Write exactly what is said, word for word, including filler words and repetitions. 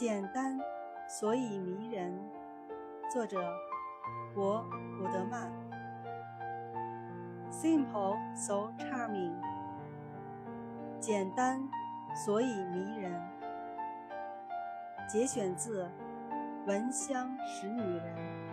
简单，所以迷人。作者博古德曼。 Simple, so charming。 简单，所以迷人。节选自《闻香识女人》。